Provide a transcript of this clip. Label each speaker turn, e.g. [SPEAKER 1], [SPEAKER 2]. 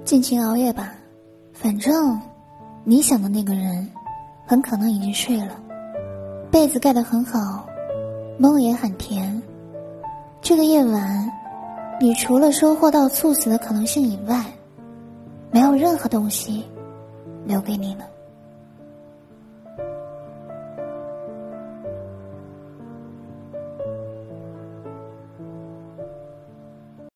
[SPEAKER 1] 尽情熬夜吧，反正你想的那个人很可能已经睡了，被子盖得很好，梦也很甜。这个夜晚，你除了收获到猝死的可能性以外，没有任何东西留给你了。